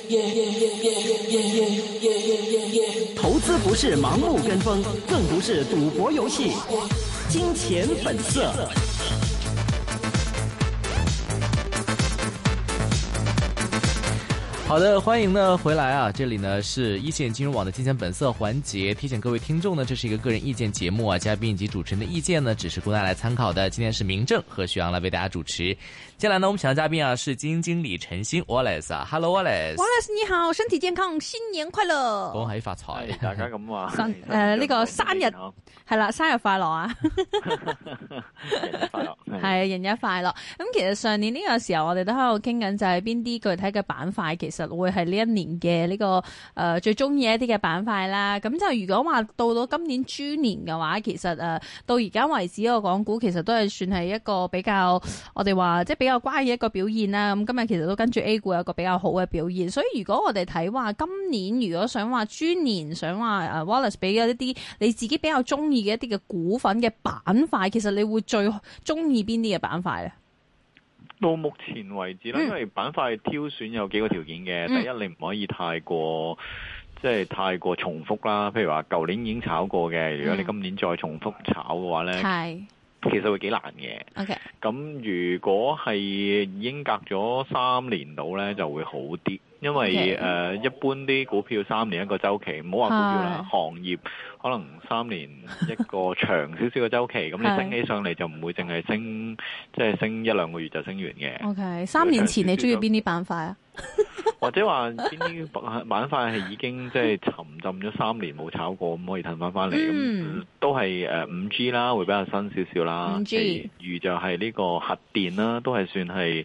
投資不是盲目跟風，更不是賭博遊戲。金錢本色。好的，歡迎呢回來啊！這裡呢是一線金融網的金錢本色環節，提醒各位聽眾呢，這是一個個人意見節目啊，嘉賓以及主持人的意見呢，只是供大家來參考的。今天是明正和徐陽來為大家主持。接下來呢，我們請到嘉賓啊是基金經理陳昕 Wallace 啊 ，Hello Wallace。Wallace 你好，身體健康，新年快樂！ 恭喜發財， 大家咁話。 呢個生日係啦，生日快樂啊！ 人日快樂， 係人日快樂。咁其實上年呢個時候，我哋都喺度傾緊，就係邊啲具體嘅板塊，其實會係呢一年嘅呢個最中意一啲嘅板塊啦。咁就如果話到今年豬年嘅話，其實到而家為止個港股其實都係算係一個比較我哋話即係比較乖嘅一個表現啦。咁今日其實都跟住 A 股有一個比較好嘅表現。所以如果我哋睇話今年如果想話豬年，想話Wallace 俾一啲你自己比較中意嘅一啲嘅股份嘅板塊，其實你會最中意邊啲嘅板塊咧？ 到目前為止咧，因為板塊挑選有幾個條件嘅。第一，你唔可以太過重複啦。譬如話舊年已經炒過嘅，如果你今年再重複炒嘅話咧，其實會幾難嘅。 OK， 咁如果係已經隔咗3年到咧，就會好啲。因為一般啲股票3年一個週期，唔好話股票啦，行業可能3年一個長少少嘅週期，咁你升起上嚟就唔會淨係升，即係升1-2個月就升完嘅。 OK， 3年前你中意邊啲板塊啊？ 或者話邊啲板塊係已經即係沉浸咗3年冇炒過，咁可以騰翻嚟，咁都係5G 啦，會比較新少少啦。其餘就係呢個核電啦，都係算係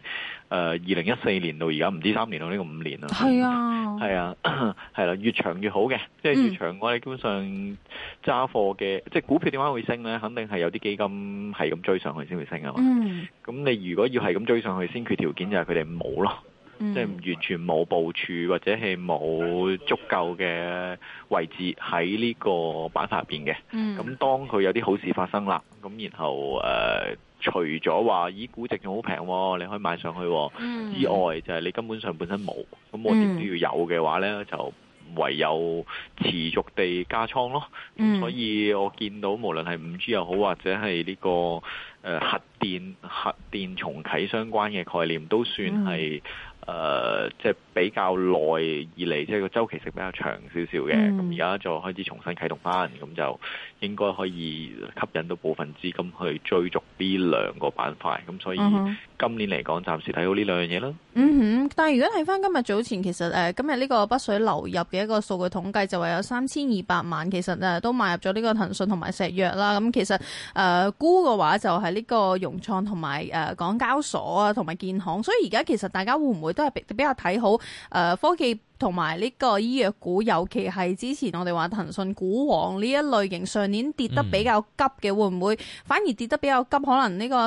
2014年到而家唔知3年到呢個5年啦。 係啊， 係啊，係啦，越長越好嘅，即係越長我哋基本上揸貨嘅，即係股票點解會升咧？肯定係有啲基金係咁追上去先會升啊嘛。咁你如果要係咁追上去，先決條件就係佢哋冇咯。即係完全冇部署或者係冇足夠嘅位置喺呢個板塊入邊嘅。咁當佢有啲好事發生啦，咁然後除咗話咦估值仲好平，你可以買上去之外，就係你根本上本身冇，咁我點都要有嘅話呢，就唯有持續地加倉咯。所以我見到無論係5G 又好，或者係呢個核電重啟相關嘅概念，都算係即係比較耐以嚟，即係個周期性比較長少少嘅。咁而家就開始重新啟動翻，咁就應該可以吸引到部分資金去追逐呢兩個板塊。咁所以今年嚟講，暫時睇好呢兩樣嘢啦。 但係如果睇翻今日早前，其實今日呢個北水流入嘅一個數據統計，就話有3200萬，其實都買入咗呢個騰訊同埋石藥啦。咁其實沽嘅話就係呢個融創同埋港交所啊，同埋建行。所以而家其實大家會唔會都係比較睇好科技同埋呢個醫藥股，尤其係之前我哋話騰訊股王呢一類型，上年跌得比較急嘅，會唔會反而跌得比較急？可能呢個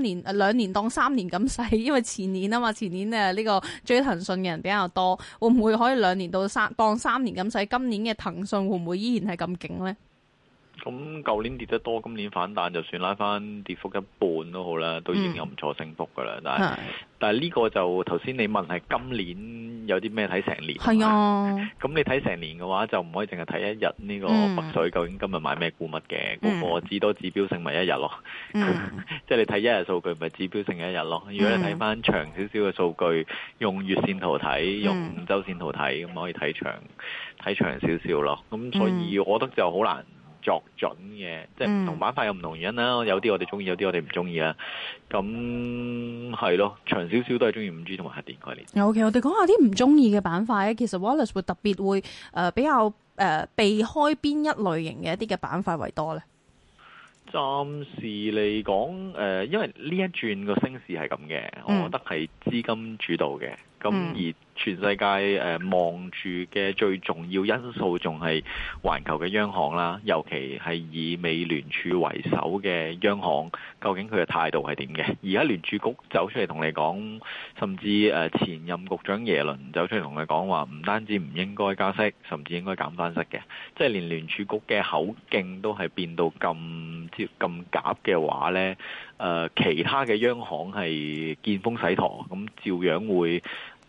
2年當3年咁使，因為前年啊嘛，前年呢個追騰訊嘅人比較多，會唔會可以2年當3年咁使？今年嘅騰訊會唔會依然係咁勁呢？ 咁舊年跌得多，今年反彈就算拉翻跌幅一半都好啦，都已經有唔錯升幅噶啦。但係呢個就頭先你問係今年有啲咩睇成年？係啊。咁你睇成年嘅話，就唔可以淨係睇一日呢個北水究竟今日買咩股乜嘅，個至多指標性咪一日咯。即係你睇一日數據咪指標性一日咯。如果你睇翻長少少嘅數據，用月線圖睇，用周線圖睇，咁可以睇長少少咯。咁所以我覺得就好難作準嘅，即係唔同板塊有唔同原因啦。有啲我哋中意，有啲我哋唔中意啦。咁係咯，長少少都係中意5G同埋核電概念。 OK， 我哋講下啲唔中意嘅板塊咧。其實 Wallace 會特別會比較避開邊一類型嘅一啲嘅板塊為多咧？ 暫時嚟講，因為呢一轉個升市係咁嘅，我覺得係資金主導嘅。咁而全世界望住嘅最重要因素仲係環球嘅央行啦，尤其係以美聯儲為首嘅央行，究竟佢嘅態度係點嘅？而家聯儲局走出嚟同你講，甚至前任局長耶倫走出嚟同你講話，唔單止唔應該加息，甚至應該減翻息嘅，即係連聯儲局嘅口徑都係變到咁鴿嘅話呢，其他嘅央行係見風使舵，咁照樣會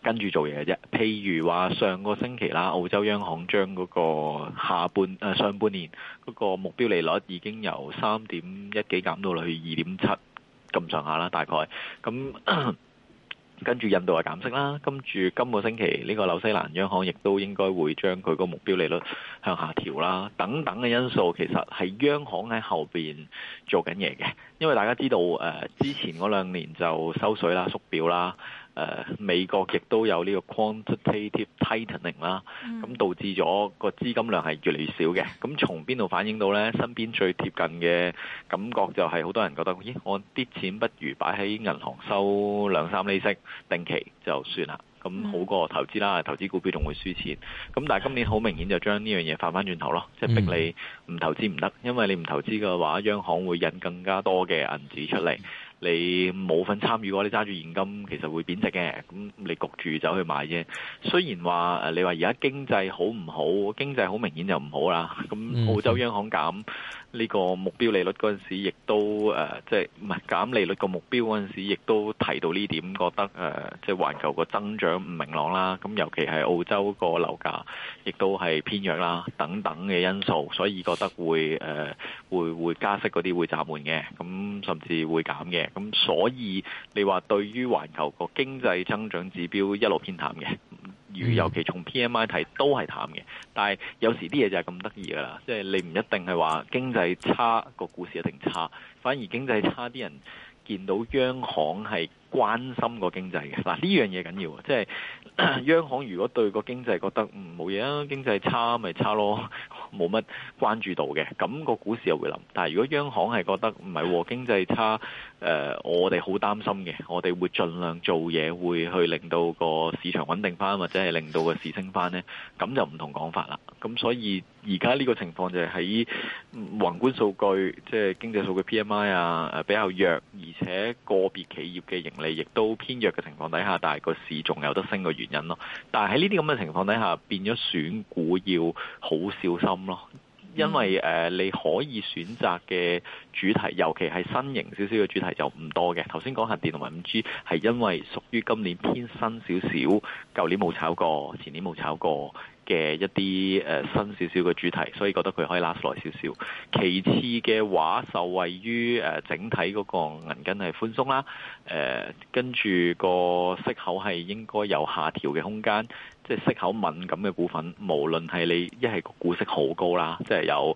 跟住做嘢嘅啫。譬如話上個星期啦，澳洲央行將嗰個上半年嗰個目標利率已經由3.1幾減到去2.7咁上下啦，大概咁。跟住印度係減息啦，跟住今個星期呢個紐西蘭央行亦都應該會將佢個目標利率向下調啦，等等嘅因素其實係央行喺後邊做緊嘢嘅，因為大家知道之前嗰2年就收水啦、縮表啦。美國亦都有呢個 quantitative tightening 啦，咁導致咗個資金量係越嚟越少嘅。咁從邊度反映到呢？身邊最貼近嘅感覺就係好多人覺得，咦，我啲錢不如擺喺銀行收2-3厘息定期就算啦，咁好過投資啦，投資股票仲會輸錢。咁但係今年好明顯就將呢樣嘢反翻轉頭咯，即係逼你唔投資唔得，因為你唔投資嘅話，央行會印更加多嘅銀紙出嚟。你冇份參與嘅話，你揸住現金其實會貶值嘅，咁你焗住走去買啫。雖然話你話而家經濟好唔好？經濟好明顯就唔好啦。咁澳洲央行減呢個目標利率嗰陣時，亦都即係唔係減利率個目標嗰陣時，亦都提到呢點，覺得即係環球個增長唔明朗啦。咁尤其係澳洲個樓價亦都係偏弱啦，等等嘅因素，所以覺得會加息嗰啲會暫緩嘅，咁甚至會減嘅。咁所以你話對於環球個經濟增長指標一路偏淡嘅，尤其從 PMI 睇都係淡嘅。但係有時啲嘢就係咁得意噶啦，即係你唔一定係話經濟差個股市一定差，反而經濟差啲人見到央行係關心個經濟嘅。嗱，呢樣嘢緊要，即係央行如果對個經濟覺得冇嘢啊，經濟差咪差咯，冇乜關注到嘅，咁個股市又會冧。但係如果央行係覺得唔係經濟差，我哋好擔心嘅，我哋會盡量做嘢，會去令到個市場穩定翻，或者係令到個市升翻呢，咁就唔同講法啦。咁所以而家呢個情況就係喺宏觀數據，即係經濟數據 PMI 啊比較弱，而且個別企業嘅盈利亦都偏弱嘅情況底下，但係個市仲有得升嘅原因咯。但係喺呢啲咁嘅情況底下，變咗選股要好小心咯。因為你可以選擇嘅主題，尤其係新型少少嘅主題就唔多嘅。頭先講核電同埋 5G 係因為屬於今年偏新少少，舊年冇炒過，前年冇炒過嘅一啲新少少嘅主題，所以覺得佢可以 last 耐少少。其次嘅話，受惠於整體嗰個銀根係寬鬆啦，跟住個息口係應該有下調嘅空間。即係息口敏感嘅股份，無論係你一係個股息好高啦，即係有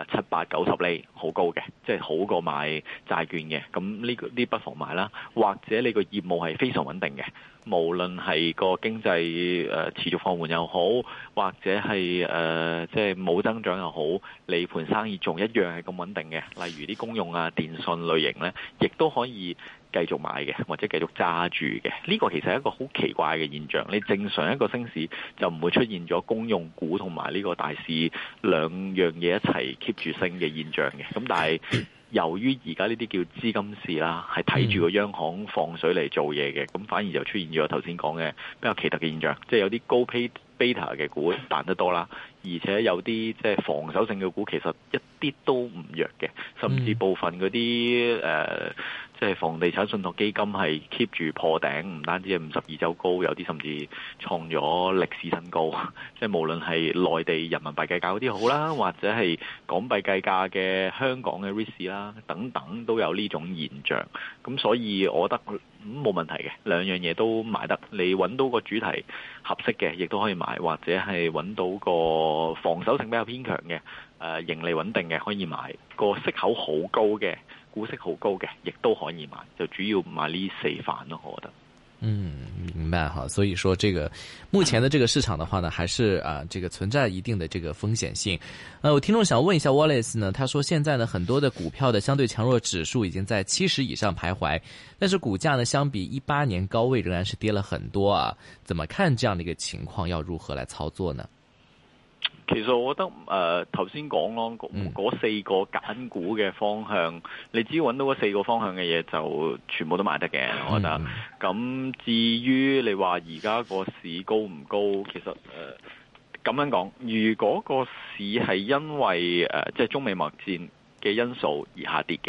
7、8、90厘好高嘅，即係好過買債券嘅，咁呢不妨買啦。或者你個業務係非常穩定嘅，無論係個經濟持續放緩又好，或者係即係冇增長又好，你盤生意仲一樣係咁穩定嘅。例如啲公用啊、電信類型呢，亦都可以繼續買嘅，或者繼續揸住嘅。呢個其實係一個好奇怪嘅現象。你正常一個升市就唔會出現咗公用股同埋呢個大市兩樣嘢一齊 keep 住升嘅現象嘅。咁但係由於而家呢啲叫資金市啦，係睇住個央行放水嚟做嘢嘅，咁反而就出現咗頭先講嘅比較奇特嘅現象，即係有啲高 beta 嘅股彈得多啦，而且有啲即係防守性嘅股其實一啲都唔弱嘅，甚至部分嗰啲即係房地產信託基金係 keep 住破頂，唔單止係52週高，有啲甚至創咗歷史新高。即係無論係內地人民幣計價嗰啲好啦，或者係港幣計價嘅香港嘅 REITs 啦，等等都有呢種現象。咁所以我覺得冇問題嘅，兩樣嘢都買得。你揾到個主題合適嘅，亦都可以買，或者係揾到個防守性比較偏強嘅，盈利穩定嘅可以買，個息口好高嘅，股息好高嘅，亦都可以買，就主要買呢4範咯，我覺得。 明白哈。所以說，這個目前的這個市場的話呢，還是這個存在一定的這個風險性。我聽眾想問一下 Wallace 呢，他說現在呢很多的股票的相對強弱指數已經在70以上徘徊，但是股價呢相比18年高位仍然是跌了很多啊。怎麼看這樣的一個情況？要如何來操作呢？ 其實我覺得頭先講咯，嗰4個揀股嘅方向，你只要揾到嗰4個方向嘅嘢，就全部都買得嘅。我覺得。咁至於你話而家個市高唔高，其實咁樣講，如果個市係因為即係中美貿易戰嘅因素而下跌嘅，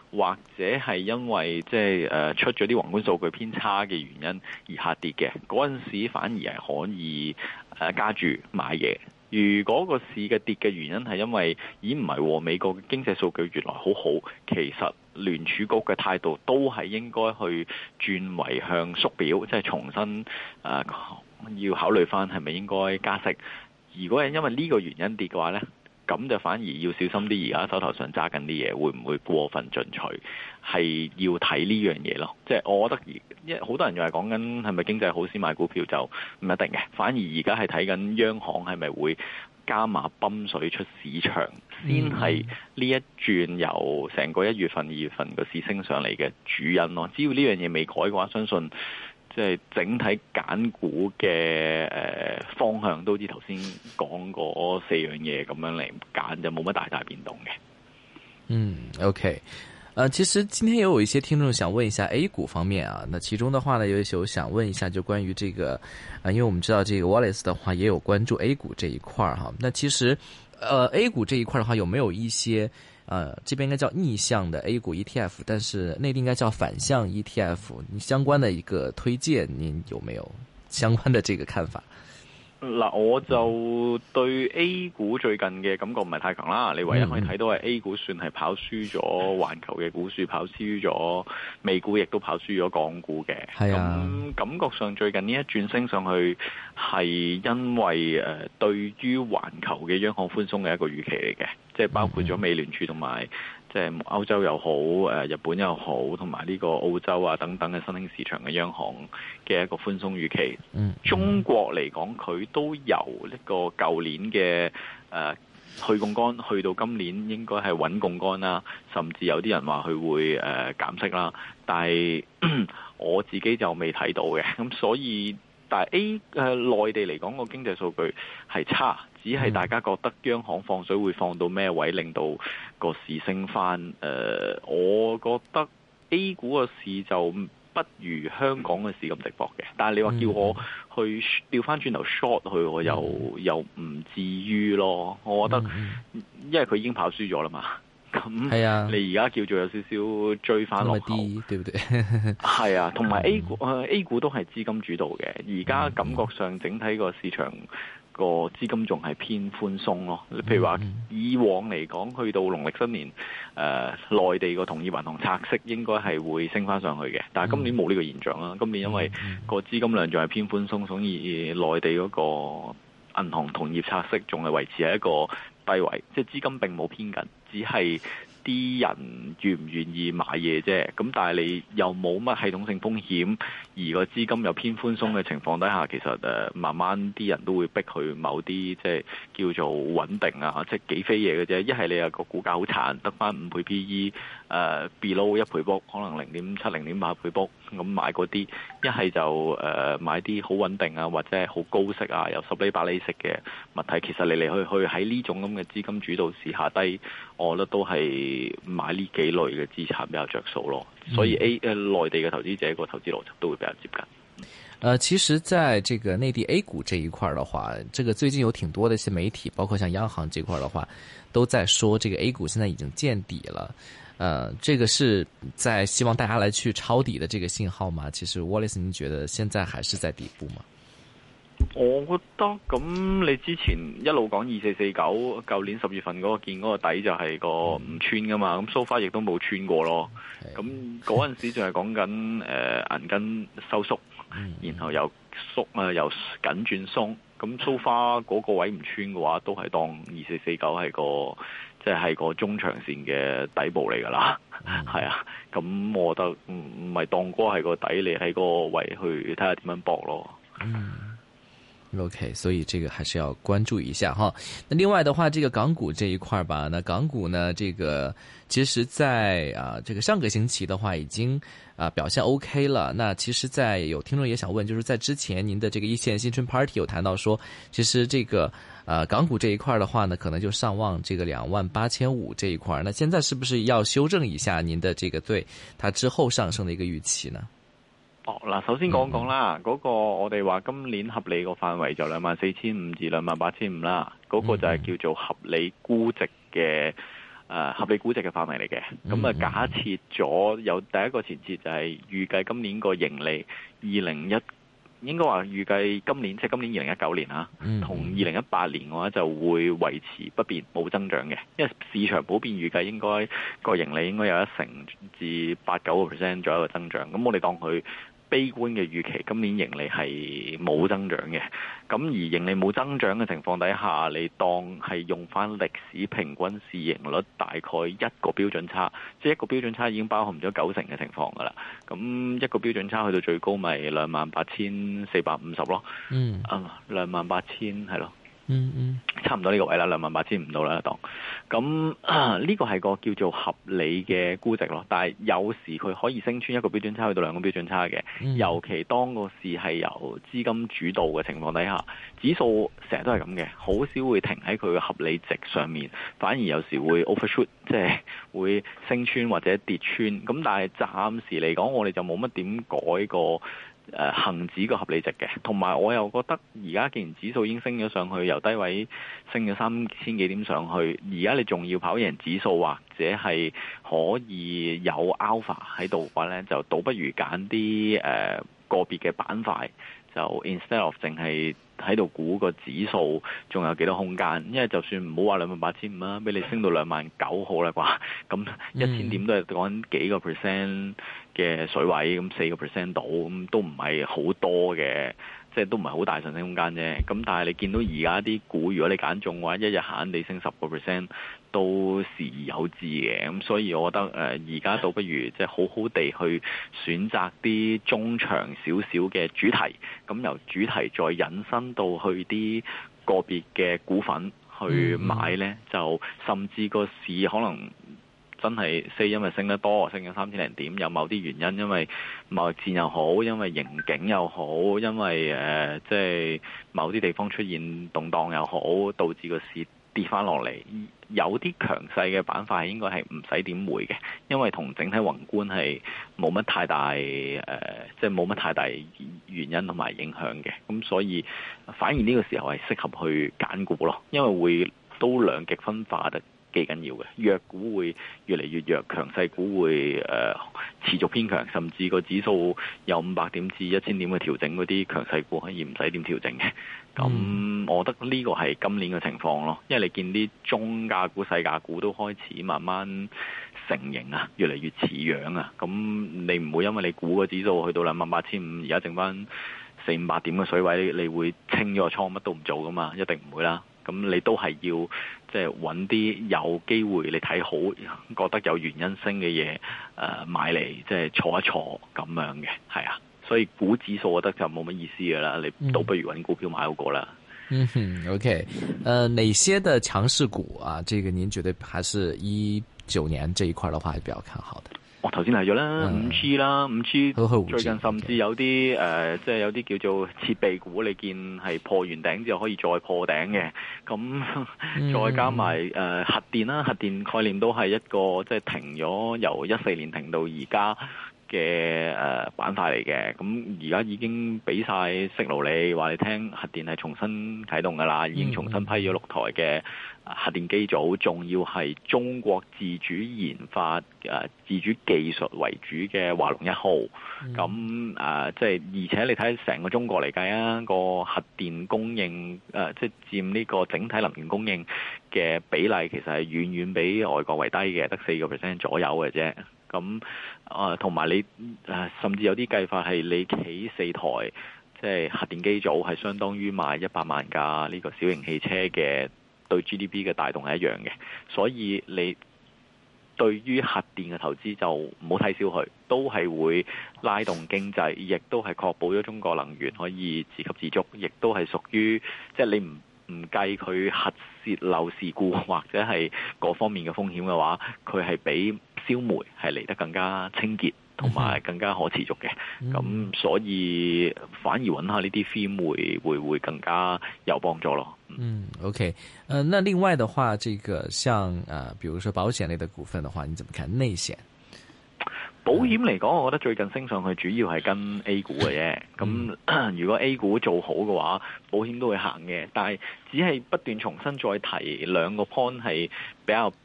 或者係因為即係出咗啲宏觀數據偏差嘅原因而下跌嘅，嗰陣時反而係可以加注買嘢。如果個市嘅跌嘅原因係因為唔係喎，美國嘅經濟數據原來好好，其實聯儲局嘅態度都係應該去轉為向縮表，即係重新要考慮翻係咪應該加息。如果係因為呢個原因跌嘅話呢，咁就反而要小心啲。而家手頭上揸緊啲嘢，會唔會過分進取？係要睇呢樣嘢咯。即係我覺得因為好多人又係講緊係咪經濟好先買股票，就唔一定嘅。反而而家係睇緊央行係咪會加碼泵水出市場，先係呢一轉由成個1月份、2月份個市升上嚟嘅主因咯。只要呢樣嘢未改嘅話，相信即係整體揀股嘅方向都好似頭先講嗰4樣嘢咁樣嚟揀，就冇乜大變動嘅。 OK。其實今天也有一些聽眾想問一下 A 股方面啊，那其中的話呢，有想問一下就關於這個，因為我們知道這個 Wallace 的話也有關注 A 股這一塊哈。那其實A 股這一塊的話，有沒有一些這邊應該叫逆向的 A 股 ETF， 但是內地應該叫反向 ETF， 你相關的一個推薦，您有沒有相關的這個看法？ 嗱，我就對 A 股最近嘅感覺唔係太強啦。你唯一可以睇到係 A 股算係跑輸咗環球嘅股市，跑輸咗美股，亦都跑輸咗港股嘅。係啊，咁感覺上最近呢一轉升上去係因為對於環球嘅央行寬鬆嘅一個預期嚟嘅，即係包括咗美聯儲同埋即係歐洲又好，日本又好，同埋呢個澳洲啊等等嘅新興市場嘅央行嘅一個寬鬆預期。中國嚟講，佢都由呢個舊年嘅去槓桿去到今年應該係穩槓桿啦，甚至有啲人話佢會減息啦。但係我自己就未睇到嘅，咁所以但係內地嚟講個經濟數據係差，只係大家覺得央行放水會放到咩位，令到個市升翻。我覺得 A 股個市就不如香港嘅市咁直博嘅，但係你話叫我去調翻轉頭 short 佢，我又唔至於咯。我覺得因為佢已經跑輸咗啦嘛，咁你而家叫做有少少追翻落後，對唔對？係啊，同埋 A 股都係資金主導嘅，而家感覺上整體個市場個資金仲係偏寬鬆咯。譬如話以往嚟講，去到農曆新年，內地個同業銀行拆息應該係會升翻上去嘅，但係今年冇呢個現象啦。今年因為個資金量仲係偏寬鬆，所以內地嗰個銀行同業拆息仲係維持喺一個低位，即係資金並冇偏緊，只係啲人願唔願意買嘢啫。咁但係你又冇乜系統性風險，而個資金又偏寬鬆嘅情況底下，其實慢慢啲人都會逼去某啲即係叫做穩定啊，即係幾飛嘢嘅啫。一係你有個股價好殘，得翻5倍 PE，below 1倍 book，可能0.7、0.8倍 book，咁買嗰啲；一係就買啲好穩定啊，或者係好高息啊，有10厘8厘息嘅物體。其實嚟嚟去去喺呢種咁嘅資金主導市下低，我覺得都係買呢幾類嘅資產比較着數咯。所以內地嘅投資者個投資邏輯都會比較接近。 其實在這個內地 A 股這一塊的話，這個最近有挺多的一些媒體，包括像央行這塊的話，都在說這個 A 股現在已經見底了。這個是在希望大家來去抄底的這個信號嗎？其實 Wallace，您覺得現在還是在底部嗎？ 我覺得咁，你之前一路講2449，舊年10月份嗰個見嗰個底就係個唔穿噶嘛，咁 so far 亦都冇穿過咯。咁嗰陣時仲係講緊銀根收縮，然後又縮又緊轉鬆。咁 so far 嗰個位唔穿嘅話，都係當2449係個即係個中長線嘅底部嚟噶啦。係啊，咁我覺得唔係當嗰係個底，你喺個位去睇下點樣搏咯。 OK， 所以這個還是要關注一下哈。那另外的話，這個港股這一塊吧，那港股呢，這個其實在這個上個星期的話已經表現 OK 了。那其實在有聽眾也想問，就是在之前您的這個一線新春 Party 有談到說，其實這個港股這一塊的話呢，可能就上望這個28,500這一塊。那現在是不是要修正一下您的這個對它之後上升的一個預期呢？ 嗱，首先講講啦，嗰個我哋話今年合理個範圍就24,500至28,500啦，嗰個就係叫做合理估值嘅合理估值嘅範圍嚟嘅。咁假設咗有第一個前設就係預計今年個盈利應該話預計今年即係今年2019年啊，同2018年嘅話就會維持不變冇增長嘅，因為市場普遍預計應該個盈利應該有1成至8-9% 左右嘅增長。咁我哋當佢悲觀嘅預期，今年盈利係冇增長嘅。咁而盈利冇增長嘅情況底下，你當係用翻歷史平均市盈率大概1個標準差，即係1個標準差已經包含咗90%嘅情況㗎啦。咁1個標準差去到最高咪28,450咯。28,000係咯。差唔多呢個位啦，28,500到啦當。咁呢個係個叫做合理嘅估值咯。但係有時佢可以升穿1個標準差去到2個標準差嘅。尤其當個市係由資金主導嘅情況底下，指數成日都係咁嘅，好少會停喺佢嘅合理值上面，反而有時會 overshoot， 即係會升穿或者跌穿。咁但係暫時嚟講，我哋就冇乜點改過恒指個合理值嘅，同埋我又覺得而家既然指數已經升咗上去，由低位升咗3000幾點上去，而家你仲要跑贏指數或者係可以有 alpha 喺度嘅話呢，就倒不如揀啲個別嘅板塊，就 instead of 淨係喺度估個指數仲有幾多空間，因為就算唔好話28,500啦，俾你升到29,000好啦啩，咁1000點都係講幾個 percent 嘅水位，咁4% 到，咁都唔係好多嘅，即係都唔係好大上升空間啫。咁但係你見到而家啲股，如果你揀中嘅話，一日閒地升10%都時而有之嘅。咁所以我覺得而家倒不如即係好好地去選擇啲中長少少嘅主題，咁由主題再引申到去啲個別嘅股份去買呢，就甚至個市可能真係因為升得多，升咗3000零點，有某啲原因，因為貿易戰又好，因為盈警又好，因為即係某啲地方出現動盪又好，導致個市跌翻落嚟。有啲強勢嘅板塊應該係唔使點回嘅，因為同整體宏觀係冇乜太大即係冇乜太大原因同埋影響嘅。咁所以反而呢個時候係適合去揀股咯，因為會都兩極分化得幾緊要嘅，弱股會越嚟越弱，強勢股會持續偏強，甚至個指數有500點至1000點嘅調整，嗰啲強勢股可以唔使點調整嘅。咁我覺得呢個係今年嘅情況咯，因為你見啲中價股、細價股都開始慢慢成型啊，越嚟越似樣啊。咁你唔會因為你估個指數去到28,500，而家剩翻400-500點嘅水位，你會清咗個倉乜都唔做噶嘛？一定唔會啦。咁你都係要即係揾啲有機會你睇好、覺得有原因升嘅嘢買嚟，即係坐一坐咁樣嘅，係啊。所以股指數我覺得就冇乜意思㗎啦，你倒不如揾股票買好過啦。 OK，哪些的強勢股啊？這個您覺得還是19年這一塊的話，係比較看好的？ 我頭先提咗啦，5G 啦，5G 最近甚至有啲即係有啲叫做設備股，你見係破完頂之後可以再破頂嘅，咁再加埋核電啦，核電概念都係一個即係停咗由14年停到而家嘅板塊嚟嘅。咁而家已經俾晒息路你話你聽，核電係重新啟動㗎啦，已經重新批咗6台嘅核電機組，仲要係中國自主研發自主技術為主嘅華龍1號。咁即係而且你睇成個中國嚟計啊，個核電供應即係佔呢個整體能源供應嘅比例，其實係遠遠比外國為低嘅，得4% 左右嘅啫。咁同埋你甚至有啲計法係你起4台即係核電機組，係相當於賣100萬架呢個小型汽車嘅，對 GDP 嘅帶動係一樣嘅。所以你對於核電嘅投資就唔好睇小佢，都係會拉動經濟，亦都係確保咗中國能源可以自給自足，亦都係屬於即係你唔計佢核泄漏事故或者係各方面嘅風險嘅話，佢係比燒煤係嚟得更加清潔同埋更加可持續嘅。咁所以反而揾下呢啲 theme 會更加有幫助咯。 OK，那另外的話，這個像比如說保險類的股份的話，你怎麼看內險？ 保險嚟講，我覺得最近升上去主要係跟 A 股嘅啫。咁如果 A 股做好嘅話，保險都會行嘅。但係只係不斷重新再提兩個 point 係比較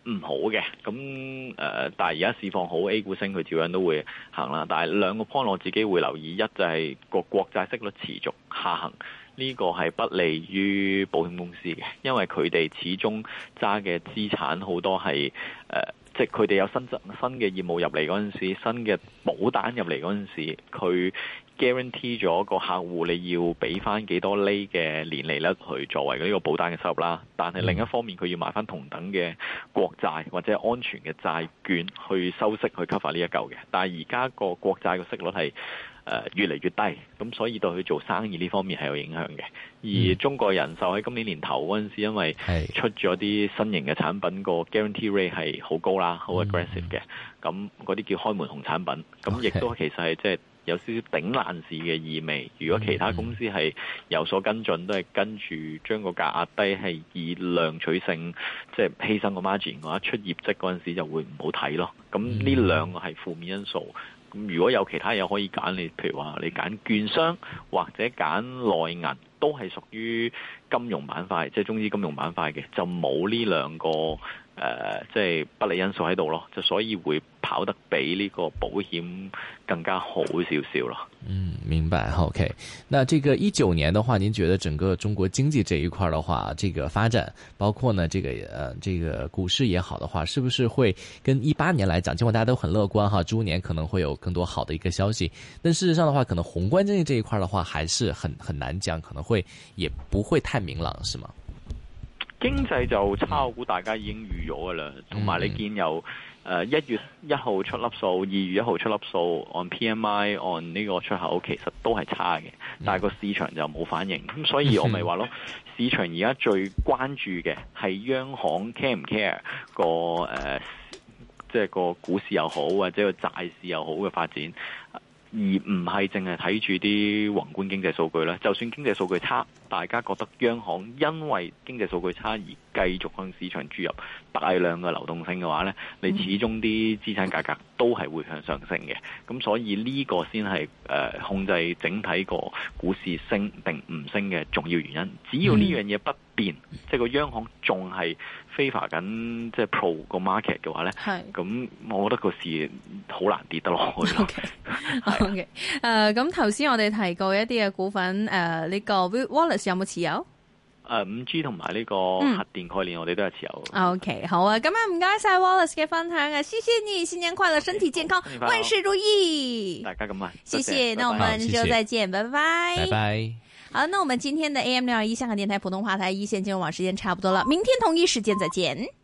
唔好嘅，咁但係而家市況好 A 股升，佢照樣都會行啦。但係兩個 point 我自己會留意，一就係個國債息率持續下行，呢個係不利於保險公司嘅，因為佢哋始終揸嘅資產好多係即係佢哋有新嘅業務入嚟嗰陣時，新嘅保單入嚟嗰陣時，佢 guarantee 咗個客戶你要俾翻幾多厘嘅年利率去作為呢個保單嘅收入啦。但係另一方面，佢要買翻同等嘅國債或者安全嘅債券去收息去 cover 呢一嚿嘅。但係而家個國債嘅息率係越嚟越低，咁所以對佢做生意呢方面係有影響嘅。而中國人壽喺今年年頭嗰陣時，因為出咗啲新型嘅產品，個 guarantee rate 係好高啦，好 aggressive 嘅，咁嗰啲叫開門紅產品，咁亦都其實係即係有少少頂爛市嘅意味。如果其他公司係有所跟進，都係跟住將個價壓低，係以量取勝，即係犧牲個 margin 嘅話，出業績嗰陣時就會唔好睇咯。咁呢兩個係負面因素。咁如果有其他嘢可以揀，你譬如話你揀券商或者揀內銀，都係屬於金融板塊，即係中資金融板塊嘅，就冇呢兩個即係不利因素喺度咯，就所以會跑得比呢個保險更加好少少咯。 明白。OK， 那這個19年的話，您覺得整個中國經濟這一塊的話，這個發展，包括呢這個股市也好的話，是不是會跟18年來講，盡管大家都很樂觀哈，豬年可能會有更多好的一個消息，但事實上的話，可能宏觀經濟這一塊的話，還是很難講，可能會也不會太明朗，是嗎？ 經濟就差，我估大家已經預咗噶啦，同埋你見有1月1號出粒數，2月1號出粒數，按 PMI 按呢個出口其實都係差嘅，但係個市場就冇反應，咁所以我咪話咯，市場而家最關注嘅係央行 care 唔 care 個即係個股市又好或者個債市又好嘅發展，而唔係淨係睇住啲宏觀經濟數據啦。就算經濟數據差，大家覺得央行因為經濟數據差而繼續向市場注入大量嘅流動性嘅話呢，你始終啲資產價格都係會向上升嘅。咁所以呢個先係控制整體個股市升定唔升嘅重要原因。只要呢樣嘢不變，即係個央行仲係favor緊即係 pro 個 market 嘅話呢，咁我覺得個市好難跌得落去。 OK， 咁頭先我哋提過一啲嘅股份，呢個 Wallace 有冇持有 ？5G 同埋呢個核電概念，我哋都係持有。 OK， 好啊，咁唔該晒 Wallace 嘅分享啊，謝謝你，新年快樂，身體健康，萬事如意。 大家咁啊， 謝謝，那我們就再見，拜拜， 拜拜。 好，那我們今天的AM621香港電台普通話台一線金融網時間差不多了，明天同一時間再見。